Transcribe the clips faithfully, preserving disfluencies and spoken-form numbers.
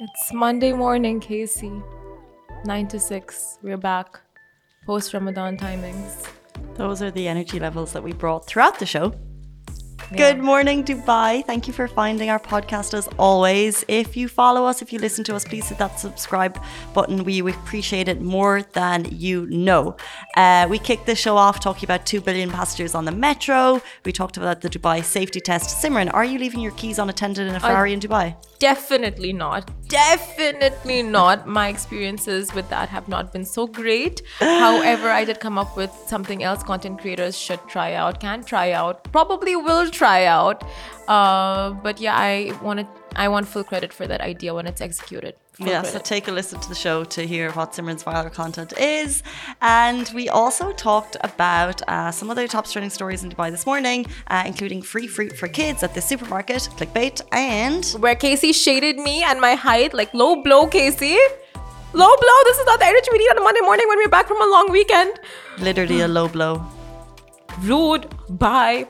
It's Monday morning, Casey. nine to six. We're back. Post Ramadan timings. Those are the energy levels that we brought throughout the show. Yeah. Good morning, Dubai. Thank you for finding our podcast as always. If you follow us, if you listen to us, please hit that subscribe button. We appreciate it more than you know. Uh, we kicked the show off talking about two billion passengers on the metro. We talked about the Dubai safety test. Simran, are you leaving your keys unattended in a Ferrari in Dubai? Definitely not. Definitely not. My experiences with that have not been so great. However, I did come up with something else content creators should try out, can try out, probably will try out. Uh, but yeah, I wanted, I want full credit for that idea when it's executed. Full Yeah, credit. so take a listen to the show to hear what Simran's viral content is. And we also talked about uh, some other top trending stories in Dubai this morning, uh, including free fruit for kids at the supermarket, clickbait, and where Casey shaded me and my height, like low blow, Casey. Low blow. This is not the energy we need on a Monday morning when we're back from a long weekend. literally a low blow. Rude. Bye.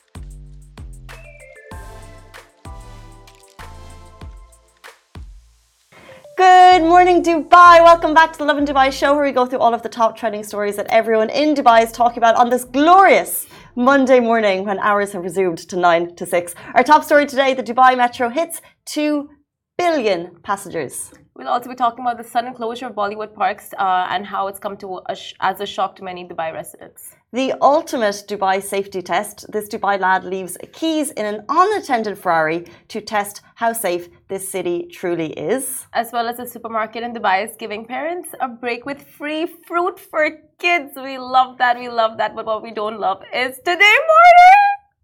Good morning, Dubai. Welcome back to the Love in Dubai show, where we go through all of the top trending stories that everyone in Dubai is talking about on this glorious Monday morning when hours have resumed to nine to six. Our top story today, the Dubai Metro hits two billion passengers. We'll also be talking about the sudden closure of Bollywood parks uh, and how it's come to a sh- as a shock to many Dubai residents. The ultimate Dubai safety test. This Dubai lad leaves keys in an unattended Ferrari to test how safe this city truly is. As well as a supermarket in Dubai is giving parents a break with free fruit for kids. We love that. We love that. But what we don't love is today morning.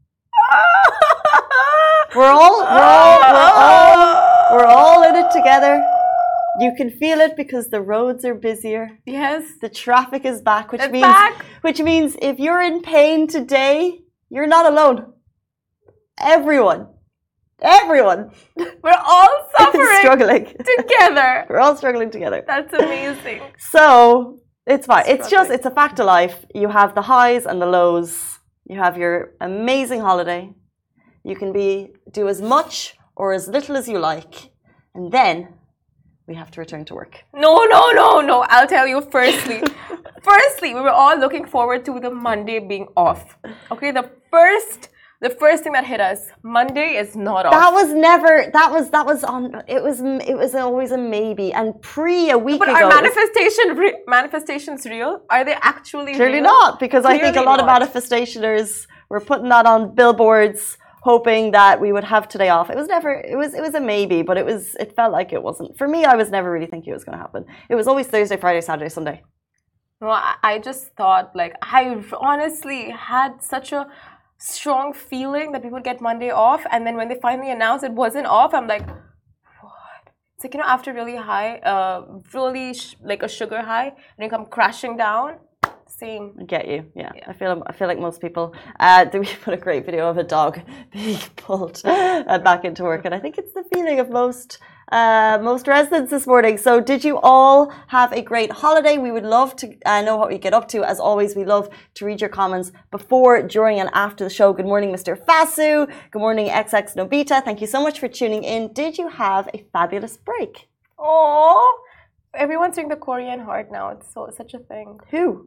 We're all, we're all, we're all, we're all in it together. You can feel it because the roads are busier. Yes. The traffic is back, which It's means back. which means if you're in pain today, you're not alone. Everyone, everyone, We're all suffering struggling together. We're all struggling together. That's amazing. So it's fine. It's just Struggling. it's a fact of life. You have the highs and the lows. You have your amazing holiday. You can be do as much or as little as you like, and then we have to return to work. No, no, no, no. I'll tell you firstly. firstly, we were all looking forward to the Monday being off. Okay, the first the first thing that hit us, Monday is not off. That was never. That was that was on. It was it was always a maybe. And pre a week But ago, are it was manifestation re- manifestations real? Are they actually clearly real? not, because I think a Clearly lot of not. manifestationers were putting that on billboards, hoping that we would have today off. It was never. It was it was a maybe, but it was. It felt like it wasn't. For me, I was never really thinking it was going to happen. It was always Thursday, Friday, Saturday, Sunday. No, I, I just thought like I honestly had such a strong feeling that we would get Monday off, and then when they finally announced it wasn't off, I'm like, what? It's like, you know, after really high, uh, really sh- like a sugar high, and you come crashing down. Same. I get you. Yeah, I feel. I feel like most people. Uh, we put a great video of a dog being pulled uh, back into work, and I think it's the feeling of most uh, most residents this morning. So, did you all have a great holiday? We would love to uh, know what you get up to. As always, we love to read your comments before, during, and after the show. Good morning, Mister Fasu. Good morning, X X Nobita. Thank you so much for tuning in. Did you have a fabulous break? Oh, everyone's doing the Korean heart now. It's so such a thing. Who?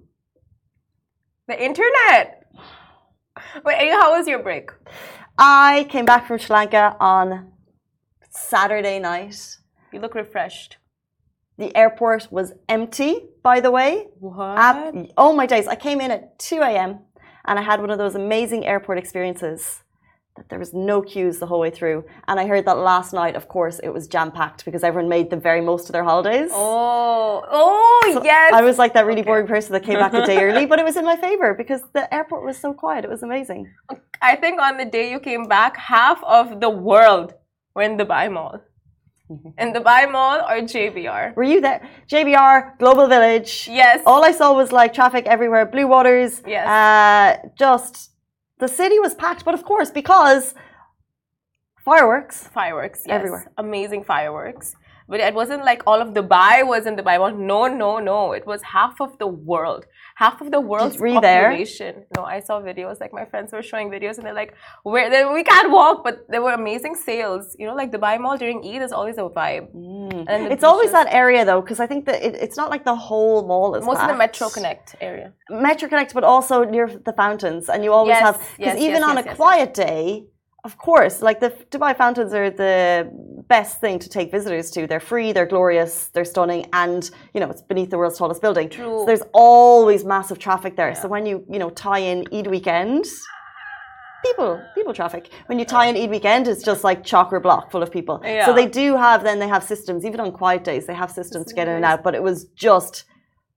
The internet. Wait, Aya, how was your break? I came back from Sri Lanka on Saturday night. You look refreshed. The airport was empty, by the way. What? Ab- oh my days. I came in at two a.m. and I had one of those amazing airport experiences that there was no queues the whole way through. And I heard that last night, of course, it was jam-packed because everyone made the very most of their holidays. Oh, oh, So yes. I was like that really Okay. boring person that came back a day early, but it was in my favor because the airport was so quiet. It was amazing. I think on the day you came back, half of the world were in the Dubai Mall. In the Dubai Mall or J B R? Were you there? J B R, Global Village. Yes. All I saw was like traffic everywhere. Blue Waters. Yes. Uh, just the city was packed, but of course because fireworks. Fireworks, yes. Everywhere. Amazing fireworks. But it wasn't like all of Dubai was in Dubai Mall. No, no, no. It was half of the world. Half of the world's population. There? No, I saw videos. Like my friends were showing videos, and they're like, "Where? Then we can't walk." But there were amazing sales. You know, like Dubai Mall during Eid is always a vibe. Mm. And it's always that area though, because I think that it, it's not like the whole mall is. Most packed. of the Metro Connect area. Metro Connect, but also near the fountains, and you always yes, have because yes, even yes, on yes, a yes, quiet yes. day. Of course, like the Dubai fountains are the best thing to take visitors to. They're free, they're glorious, they're stunning, and you know it's beneath the world's tallest building. True. So there's always massive traffic there. Yeah. So when you you know tie in Eid weekend, people people traffic. When you tie in Eid weekend, it's just like chocker block full of people. Yeah. So they do have then they have systems even on quiet days. They have systems to get in and out. But it was just.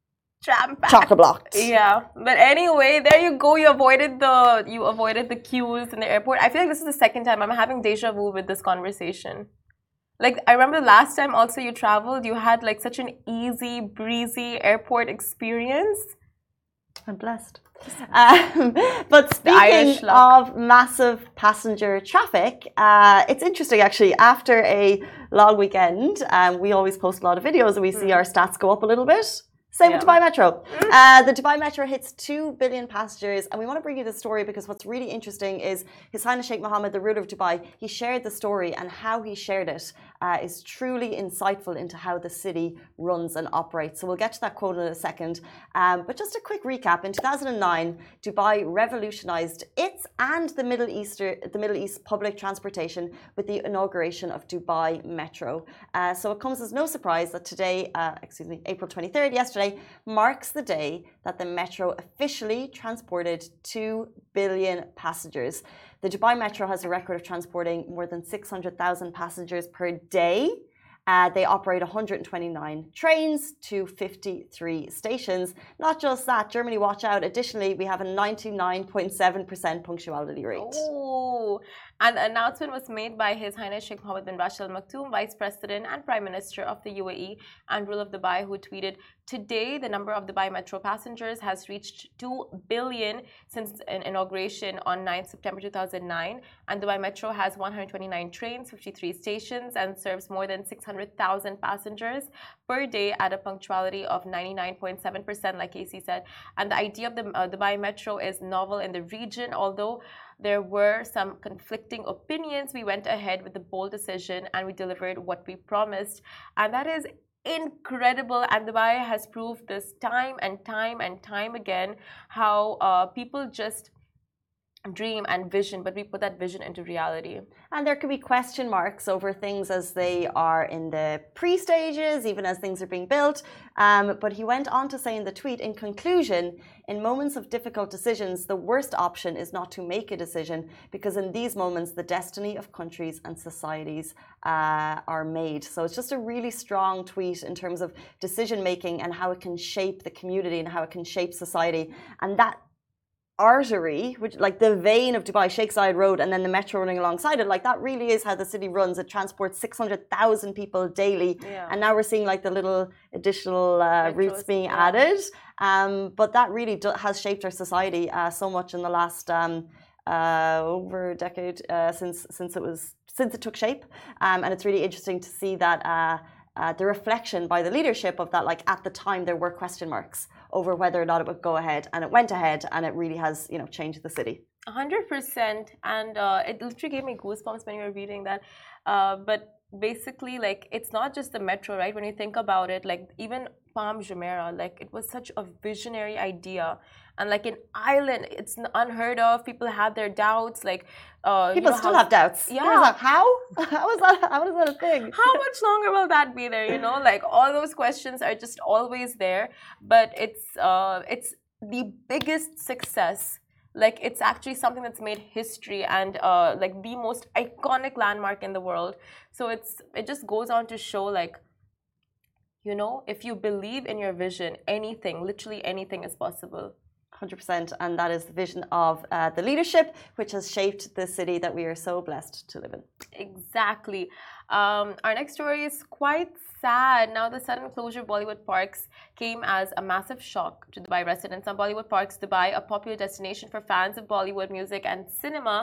Chocker blocked. Yeah, but anyway, there you go. You avoided the you avoided the queues in the airport. I feel like this is the second time I'm having deja vu with this conversation. Like I remember last time also you traveled, you had like such an easy breezy airport experience. I'm blessed. Um, but speaking of massive passenger traffic, uh, it's interesting actually. After a long weekend, um, we always post a lot of videos and we see our stats go up a little bit. Same yeah. with Dubai Metro. Uh, the Dubai Metro hits two billion passengers, and we want to bring you this story because what's really interesting is His Highness Sheikh Mohammed, the ruler of Dubai, he shared the story, and how he shared it uh, is truly insightful into how the city runs and operates. So we'll get to that quote in a second. Um, but just a quick recap. In two thousand nine, Dubai revolutionized its and the Middle Easter, the Middle East public transportation with the inauguration of Dubai Metro. Uh, so it comes as no surprise that today, uh, excuse me, April twenty-third, yesterday, marks the day that the Metro officially transported two billion passengers. The Dubai Metro has a record of transporting more than six hundred thousand passengers per day. Uh, they operate one hundred twenty-nine trains to fifty-three stations. Not just that, Germany, watch out. Additionally, we have a ninety-nine point seven percent punctuality rate. Oh, and the announcement was made by His Highness Sheikh Mohammed bin Rashid Al Maktoum, Vice President and Prime Minister of the U A E and ruler of Dubai, who tweeted, "Today, the number of Dubai Metro passengers has reached two billion since an inauguration on ninth September two thousand nine. And Dubai Metro has one hundred twenty-nine trains, fifty-three stations, and serves more than six hundred thousand passengers per day at a punctuality of ninety-nine point seven percent, like Casey said. And the idea of the uh, Dubai Metro is novel in the region, although there were some conflicting opinions. We went ahead with the bold decision and we delivered what we promised." And that is incredible, and Dubai has proved this time and time and time again how uh, people just dream and vision, but we put that vision into reality. And there could be question marks over things as they are in the pre-stages, even as things are being built. Um, but he went on to say in the tweet, in conclusion, in moments of difficult decisions, the worst option is not to make a decision, because in these moments, the destiny of countries and societies uh, are made. So it's just a really strong tweet in terms of decision making and how it can shape the community and how it can shape society. And that artery, which like the vein of Dubai, Sheikh Zayed Road, and then the metro running alongside it, like that really is how the city runs. It transports six hundred thousand people daily. Yeah. And now we're seeing like the little additional uh, routes being yeah. added. Um, but that really do- has shaped our society uh, so much in the last um, uh, over a decade uh, since since it was since it took shape. Um, and it's really interesting to see that uh, uh, the reflection by the leadership of that. Like at the time, there were question marks over whether or not it would go ahead, and it went ahead, and it really has, you know, changed the city. A hundred percent, and uh, it literally gave me goosebumps when you were reading that. Uh, but basically, like, it's not just the metro, right? When you think about it, like even Palm Jumeirah, like it was such a visionary idea, and like an island, it's unheard of. People had their doubts, like uh, people you know, still how, have doubts. Yeah, like, how? How is that? How is that a thing? How much longer will that be there? You know, like all those questions are just always there. But it's uh, it's the biggest success. Like it's actually something that's made history and uh, like the most iconic landmark in the world. So it's it just goes on to show, like, you know, if you believe in your vision, anything, literally anything is possible. one hundred percent, and that is the vision of uh, the leadership, which has shaped the city that we are so blessed to live in. Exactly. Um, our next story is quite sad. Now, the sudden closure of Bollywood Parks came as a massive shock to Dubai residents. On Bollywood Parks Dubai, a popular destination for fans of Bollywood music and cinema,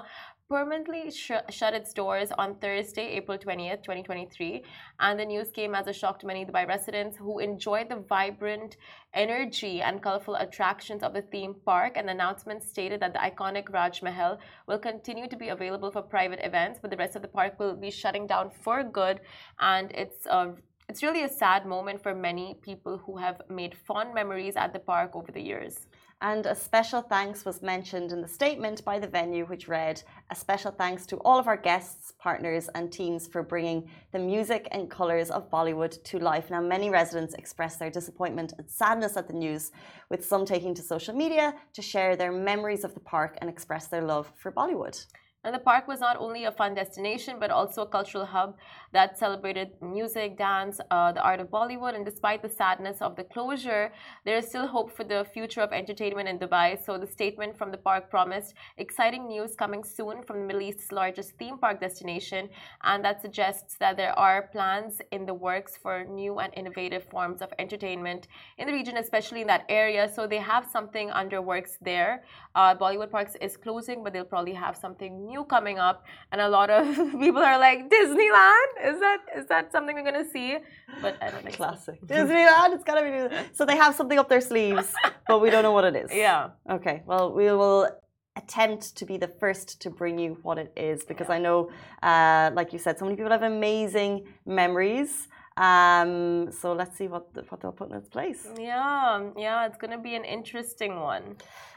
permanently sh- shut its doors on Thursday, April twentieth, twenty twenty-three. And the news came as a shock to many Dubai residents who enjoyed the vibrant energy and colorful attractions of the theme park. And the announcement stated that the iconic Raj Mahal will continue to be available for private events, but the rest of the park will be shutting down for good. And it's a It's really a sad moment for many people who have made fond memories at the park over the years. And a special thanks was mentioned in the statement by the venue, which read, "A special thanks to all of our guests, partners and teams for bringing the music and colours of Bollywood to life." Now, many residents expressed their disappointment and sadness at the news, with some taking to social media to share their memories of the park and express their love for Bollywood. And the park was not only a fun destination, but also a cultural hub that celebrated music, dance, uh, the art of Bollywood. And despite the sadness of the closure, there is still hope for the future of entertainment in Dubai. So the statement from the park promised exciting news coming soon from the Middle East's largest theme park destination. And that suggests that there are plans in the works for new and innovative forms of entertainment in the region, especially in that area. So they have something under works there. Uh, Bollywood Parks is closing, but they'll probably have something new coming up, and a lot of people are like, Disneyland, is that is that something we're gonna see? But I don't think classic so. Disneyland, it's gotta be so they have something up their sleeves, but we don't know what it is. Yeah. Okay, well, we will attempt to be the first to bring you what it is, because yeah. I know uh, like you said, so many people have amazing memories. Um, so let's see what the, what they'll put in its place. Yeah, yeah, it's gonna be an interesting one.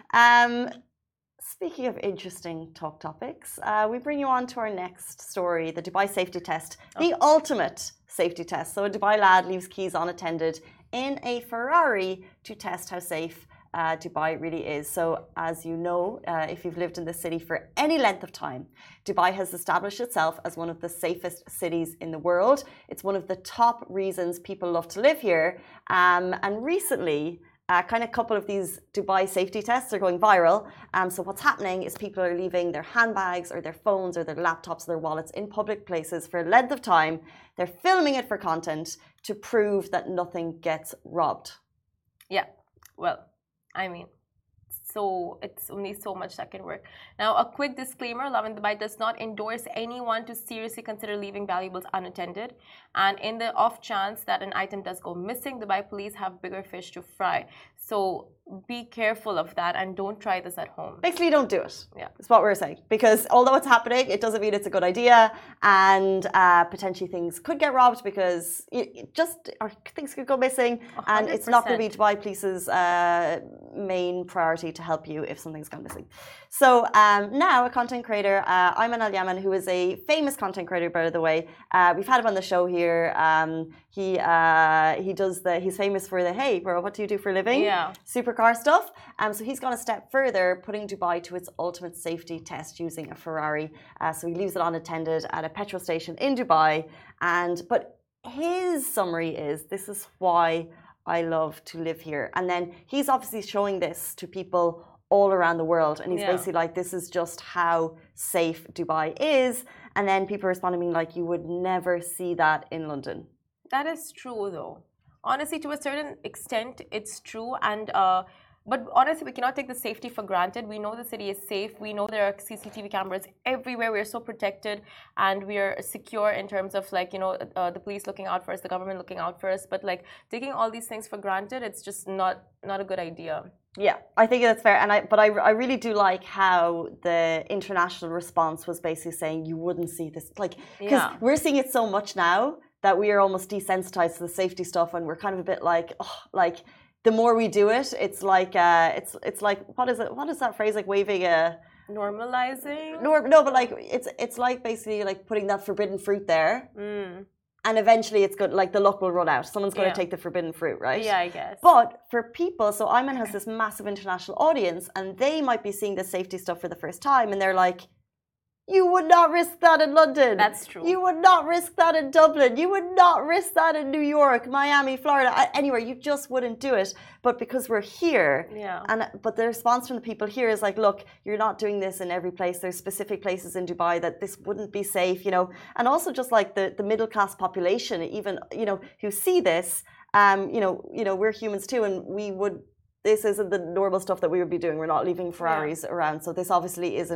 um Speaking of interesting talk topics, uh, we bring you on to our next story, the Dubai safety test, oh. the ultimate safety test. So a Dubai lad leaves keys unattended in a Ferrari to test how safe uh, Dubai really is. So as you know, uh, if you've lived in the city for any length of time, Dubai has established itself as one of the safest cities in the world. It's one of the top reasons people love to live here. Um, and recently, Uh, kind of couple of these Dubai safety tests are going viral. Um, so what's happening is people are leaving their handbags or their phones or their laptops or their wallets in public places for a length of time. They're filming it for content to prove that nothing gets robbed. Yeah, well, I mean, so it's only so much that can work. Now, a quick disclaimer, Lovin Dubai does not endorse anyone to seriously consider leaving valuables unattended. And in the off chance that an item does go missing, Dubai police have bigger fish to fry. So be careful of that and don't try this at home. Basically, don't do it. Yeah. That's what we're saying. Because although it's happening, it doesn't mean it's a good idea. And uh, potentially things could get robbed because it just or things could go missing. one hundred percent. And it's not going to be Dubai Police's uh, main priority to help you if something's gone missing. So um, now a content creator, uh, Ayman Al Yaman, who is a famous content creator, by the way. Uh, we've had him on the show here. Um, he uh, he does the, he's famous for the, hey, bro, what do you do for a living? Yeah. Supercar stuff. Um, so he's gone a step further, putting Dubai to its ultimate safety test using a Ferrari. Uh, so he leaves it unattended at a petrol station in Dubai. And but his summary is, this is why I love to live here. And then he's obviously showing this to people all around the world. And he's yeah. basically like, this is just how safe Dubai is. And then people responding being like, you would never see that in London. That is true, though. Honestly, to a certain extent, it's true. And uh, but honestly, we cannot take the safety for granted. We know the city is safe. We know there are C C T V cameras everywhere. We are so protected and we are secure in terms of, like, you know, uh, the police looking out for us, the government looking out for us. But like taking all these things for granted, it's just not not a good idea. Yeah, I think that's fair. And I, but I, I really do like how the international response was basically saying you wouldn't see this, like, because yeah. we're seeing it so much now that we are almost desensitized to the safety stuff, and we're kind of a bit like, oh, like the more we do it, it's like, uh, it's it's like, what is it? What is that phrase? Like waving a normalizing. No, no, but like it's it's like basically like putting that forbidden fruit there. Mm. And eventually it's good, like the luck will run out. Someone's going yeah. to take the forbidden fruit, right? Yeah, I guess. But for people, so Ayman has this massive international audience and they might be seeing the safety stuff for the first time and they're like, you would not risk that in London. That's true. You would not risk that in Dublin. You would not risk that in New York, Miami, Florida, anywhere. You just wouldn't do it. But because we're here, yeah. and but the response from the people here is like, look, you're not doing this in every place. There's specific places in Dubai that this wouldn't be safe, you know. And also just like the, the middle class population, even, you know, who see this, um, you know, you know, we're humans too, and we would. This isn't the normal stuff that we would be doing. We're not leaving Ferraris yeah. around. So this obviously isn't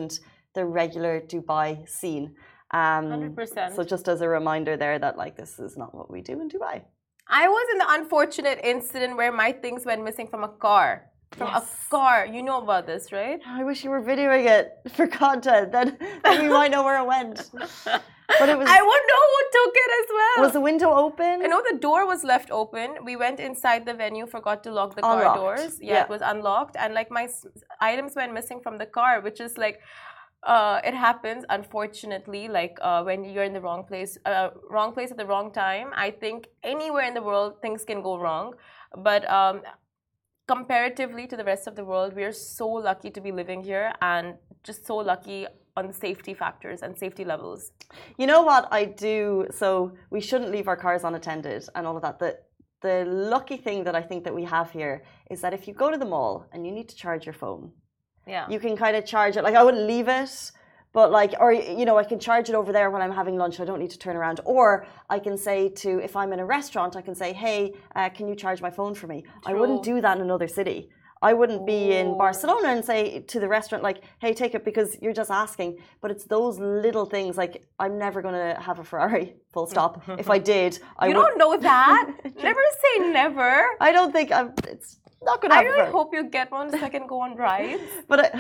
the regular Dubai scene. Um, one hundred percent. So just as a reminder there that like this is not what we do in Dubai. I was in the unfortunate incident where my things went missing from a car. From Yes. a car. You know about this, right? I wish you were videoing it for content. Then, then we might know where it went. But it was. I would know who took it as well. Was the window open? I know the door was left open. We went inside the venue, forgot to lock the car Unlocked. doors. Yeah, Yeah. it was unlocked, and like my s- items went missing from the car, which is like, uh, it happens unfortunately. Like uh, when you're in the wrong place, uh, wrong place at the wrong time. I think anywhere in the world things can go wrong, but um, comparatively to the rest of the world, we are so lucky to be living here, and just so lucky on the safety factors and safety levels. You know what I do? So we shouldn't leave our cars unattended and all of that. The, the lucky thing that I think that we have here is that if you go to the mall and you need to charge your phone, Yeah. you can kind of charge it. Like I wouldn't leave it, but like, or, you know, I can charge it over there when I'm having lunch. I don't need to turn around. Or I can say to, if I'm in a restaurant, I can say, hey, uh, can you charge my phone for me? I wouldn't do that in another city. I wouldn't be in Ooh. Barcelona and say to the restaurant, like, hey, take it, because you're just asking. But it's those little things, like, I'm never going to have a Ferrari, full stop. If I did, I You would. don't know that. Never say never. I don't think I'm, it's not going to I happen. really hope you get one so I can go on rides. But I,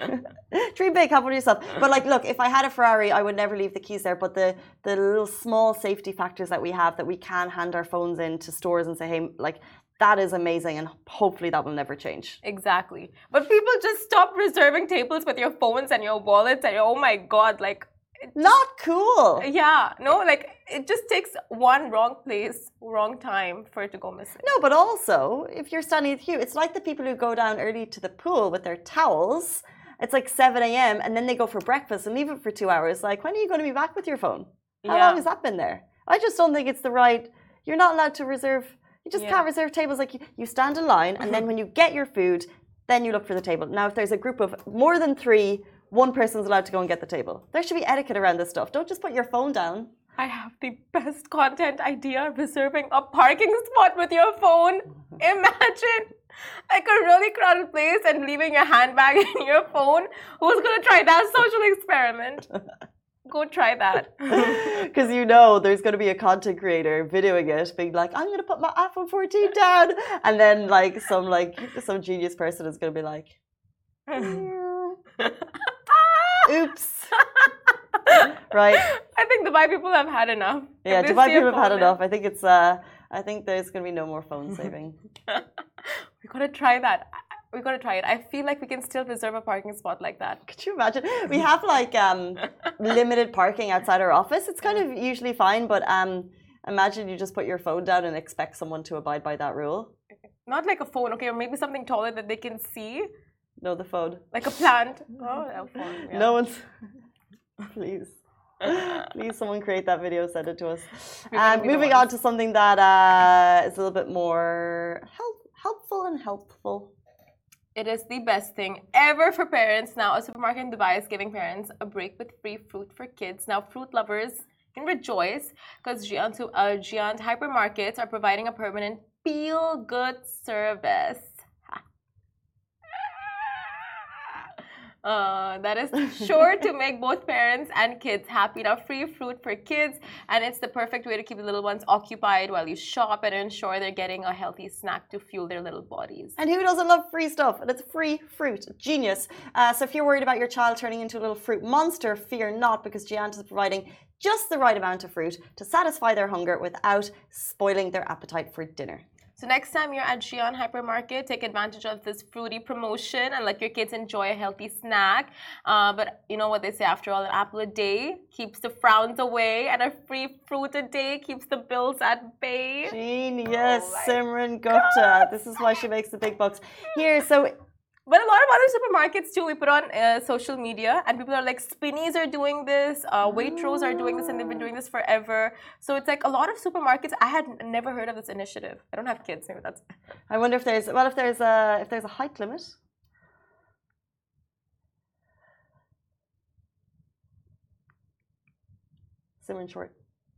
dream big, have one yourself. But like, look, if I had a Ferrari, I would never leave the keys there. But the the little small safety factors that we have, that we can hand our phones in to stores and say, hey, like, that is amazing, and hopefully that will never change. Exactly. But people just stop reserving tables with your phones and your wallets, and oh my god, like, Not cool. yeah, no, like it just takes one wrong place, wrong time for it to go missing. No, but also, if you're standing in the queue, it's like the people who go down early to the pool with their towels. It's like seven a m and then they go for breakfast and leave it for two hours. Like, when are you going to be back with your phone? How Yeah. long has that been there? I just don't think it's the right. You're not allowed to reserve. You just Yeah. can't reserve tables. Like, you, you stand in line, and then when you get your food, then you look for the table. Now, if there's a group of more than three, one person's allowed to go and get the table. There should be etiquette around this stuff. Don't just put your phone down. I have the best content idea, reserving a parking spot with your phone. Imagine like a really crowded place and leaving your handbag and your phone. Who's gonna try that social experiment? Go try that. Because you know there's going to be a content creator videoing it, being like, I'm going to put my iPhone fourteen down. And then like some like some genius person is going to be like, oops. Right? I think Dubai people have had enough. Yeah, If they Dubai see a people have had phone enough. I think it's uh I think there's going to be no more phone saving. We gotta try that. We gotta try it. I feel like we can still reserve a parking spot like that. Could you imagine? We have like um limited parking outside our office. It's kind of usually fine, but um imagine you just put your phone down and expect someone to abide by that rule. Not like a phone, okay, or maybe something taller that they can see, No, the phone. like a plant. Oh, a phone. Yeah. No one's. Please. Please, someone create that video, send it to us. We're gonna And be the moving on ones. to something that uh, is a little bit more help, helpful and helpful. It is the best thing ever for parents. Now, a supermarket in Dubai is giving parents a break with free fruit for kids. Now, fruit lovers can rejoice because Giant, uh, Giant hypermarkets are providing a permanent feel-good service. Uh, that is sure to make both parents and kids happy. Now, free fruit for kids, and it's the perfect way to keep the little ones occupied while you shop and ensure they're getting a healthy snack to fuel their little bodies. And who doesn't love free stuff? And it's free fruit. Genius. Uh, so if you're worried about your child turning into a little fruit monster, fear not, because Giant is providing just the right amount of fruit to satisfy their hunger without spoiling their appetite for dinner. So next time you're at Giant Hypermarket, take advantage of this fruity promotion and let your kids enjoy a healthy snack. Uh, but you know what they say, after all, an apple a day keeps the frowns away, and a free fruit a day keeps the bills at bay. Genius, Oh my Simran Gupta. This is why she makes the big bucks. Here, so But a lot of other supermarkets too, we put on uh, social media, and people are like, Spinneys are doing this, uh, Waitrose are doing this, and they've been doing this forever. So it's like a lot of supermarkets. I had never heard of this initiative. I don't have kids, maybe that's. I wonder if there's well if there's a if there's a height limit. Simran short.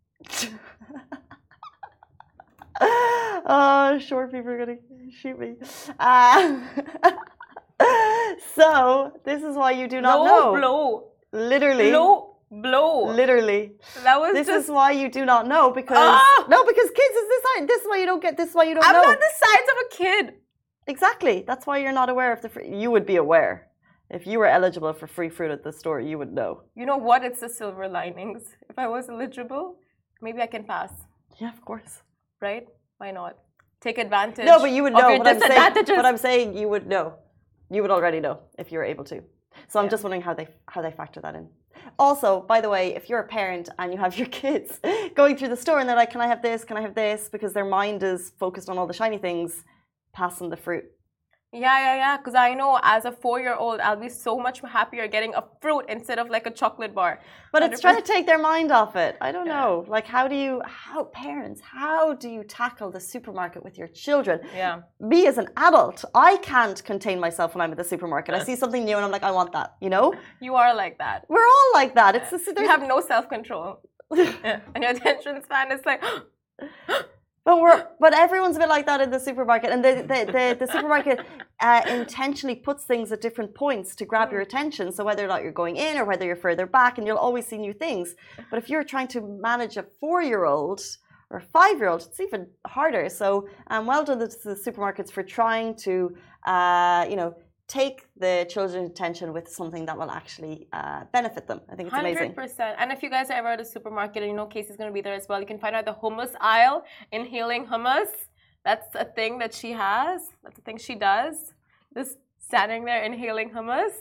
Oh, short people are gonna shoot me. Uh, so this is why you do not Low know. blow. Literally. Low blow. Literally. That was This just... is why you do not know because Ah! no, because kids is this this is why you don't get this is why you don't I'm know. not the size of a kid. Exactly. That's why you're not aware of the free. You would be aware. If you were eligible for free fruit at the store, you would know. You know what? It's the silver linings. If I was eligible, maybe I can pass. Yeah, of course. Right? Why not? Take advantage. No, but you would of know your what I'm saying. disadvantages. What I'm saying, you would know. You would already know if you were able to. So I'm Yeah. just wondering how they how they factor that in. Also, by the way, if you're a parent and you have your kids going through the store and they're like, "Can I have this? Can I have this?" because their mind is focused on all the shiny things, pass them the fruit. Yeah, yeah, yeah. Because I know as a four-year-old, I'll be so much happier getting a fruit instead of like a chocolate bar. But it's trying to take their mind off it. I don't Yeah. know. Like, how do you, how, parents, how do you tackle the supermarket with your children? Yeah. Me as an adult, I can't contain myself when I'm at the supermarket. I see something new and I'm like, I want that, you know? You are like that. We're all like that. It's just, You have no self-control. Yeah. And your attention span is like... But we're but everyone's a bit like that in the supermarket, and the the the, the supermarket uh, intentionally puts things at different points to grab your attention. So whether or not you're going in or whether you're further back, and you'll always see new things. But if you're trying to manage a four-year-old or a five-year-old, it's even harder. So um, well done to the supermarkets for trying to uh, you know take the children's attention with something that will actually uh, benefit them. I think it's amazing. one hundred percent. And if you guys are ever at a supermarket and you know Casey's going to be there as well, you can find her at the hummus aisle, inhaling hummus. That's a thing that she has. That's a thing she does. Just standing there inhaling hummus.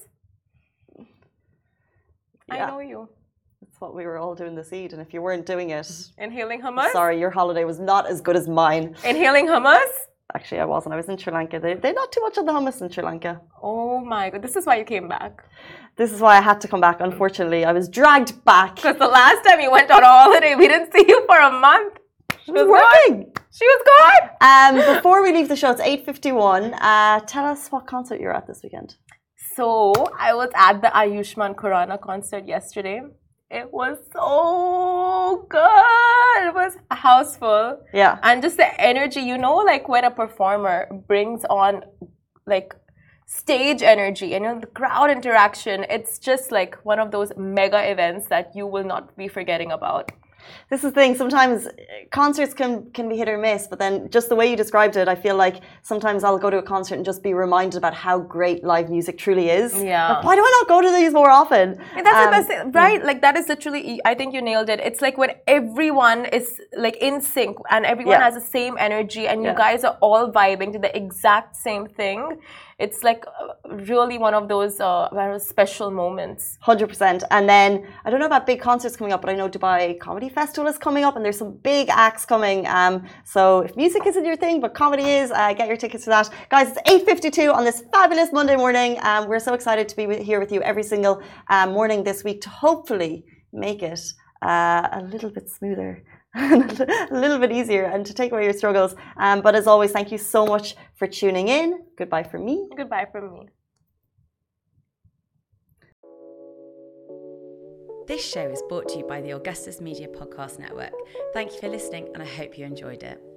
Yeah. I know you. That's what we were all doing this Eid, and if you weren't doing it, Inhaling hummus? sorry, your holiday was not as good as mine. Inhaling hummus? Actually, I wasn't. I was in Sri Lanka. They, they're not too much on the hummus in Sri Lanka. Oh my god, this is why you came back. This is why I had to come back, unfortunately. I was dragged back. Because the last time you went on holiday, we didn't see you for a month. She was working. Gone. She was gone. Um, before we leave the show, it's eight fifty-one. Uh, tell us what concert you're at this weekend. So, I was at the Ayushmann Khurrana concert yesterday. It was so good. It was a house full. Yeah. And just the energy, you know, like when a performer brings on like stage energy and you know, the crowd interaction, it's just like one of those mega events that you will not be forgetting about. This is the thing. Sometimes concerts can, can be hit or miss, but then just the way you described it, I feel like sometimes I'll go to a concert and just be reminded about how great live music truly is. Yeah. Like, why do I not go to these more often? And that's Um, the best thing, right? Like that is literally, I think you nailed it. It's like when everyone is like in sync and everyone Yeah. has the same energy and you Yeah. guys are all vibing to the exact same thing. It's like uh, really one of those uh, very special moments. one hundred percent. And then, I don't know about big concerts coming up, but I know Dubai Comedy Festival is coming up and there's some big acts coming. Um, so if music isn't your thing, but comedy is, uh, get your tickets for that. Guys, it's eight fifty-two on this fabulous Monday morning. Um, we're so excited to be with, here with you every single um, morning this week to hopefully make it uh, a little bit smoother. a little bit easier and to take away your struggles. Um, but as always, thank you so much for tuning in. Goodbye from me. Goodbye from me. This show is brought to you by the Augustus Media Podcast Network. Thank you for listening and I hope you enjoyed it.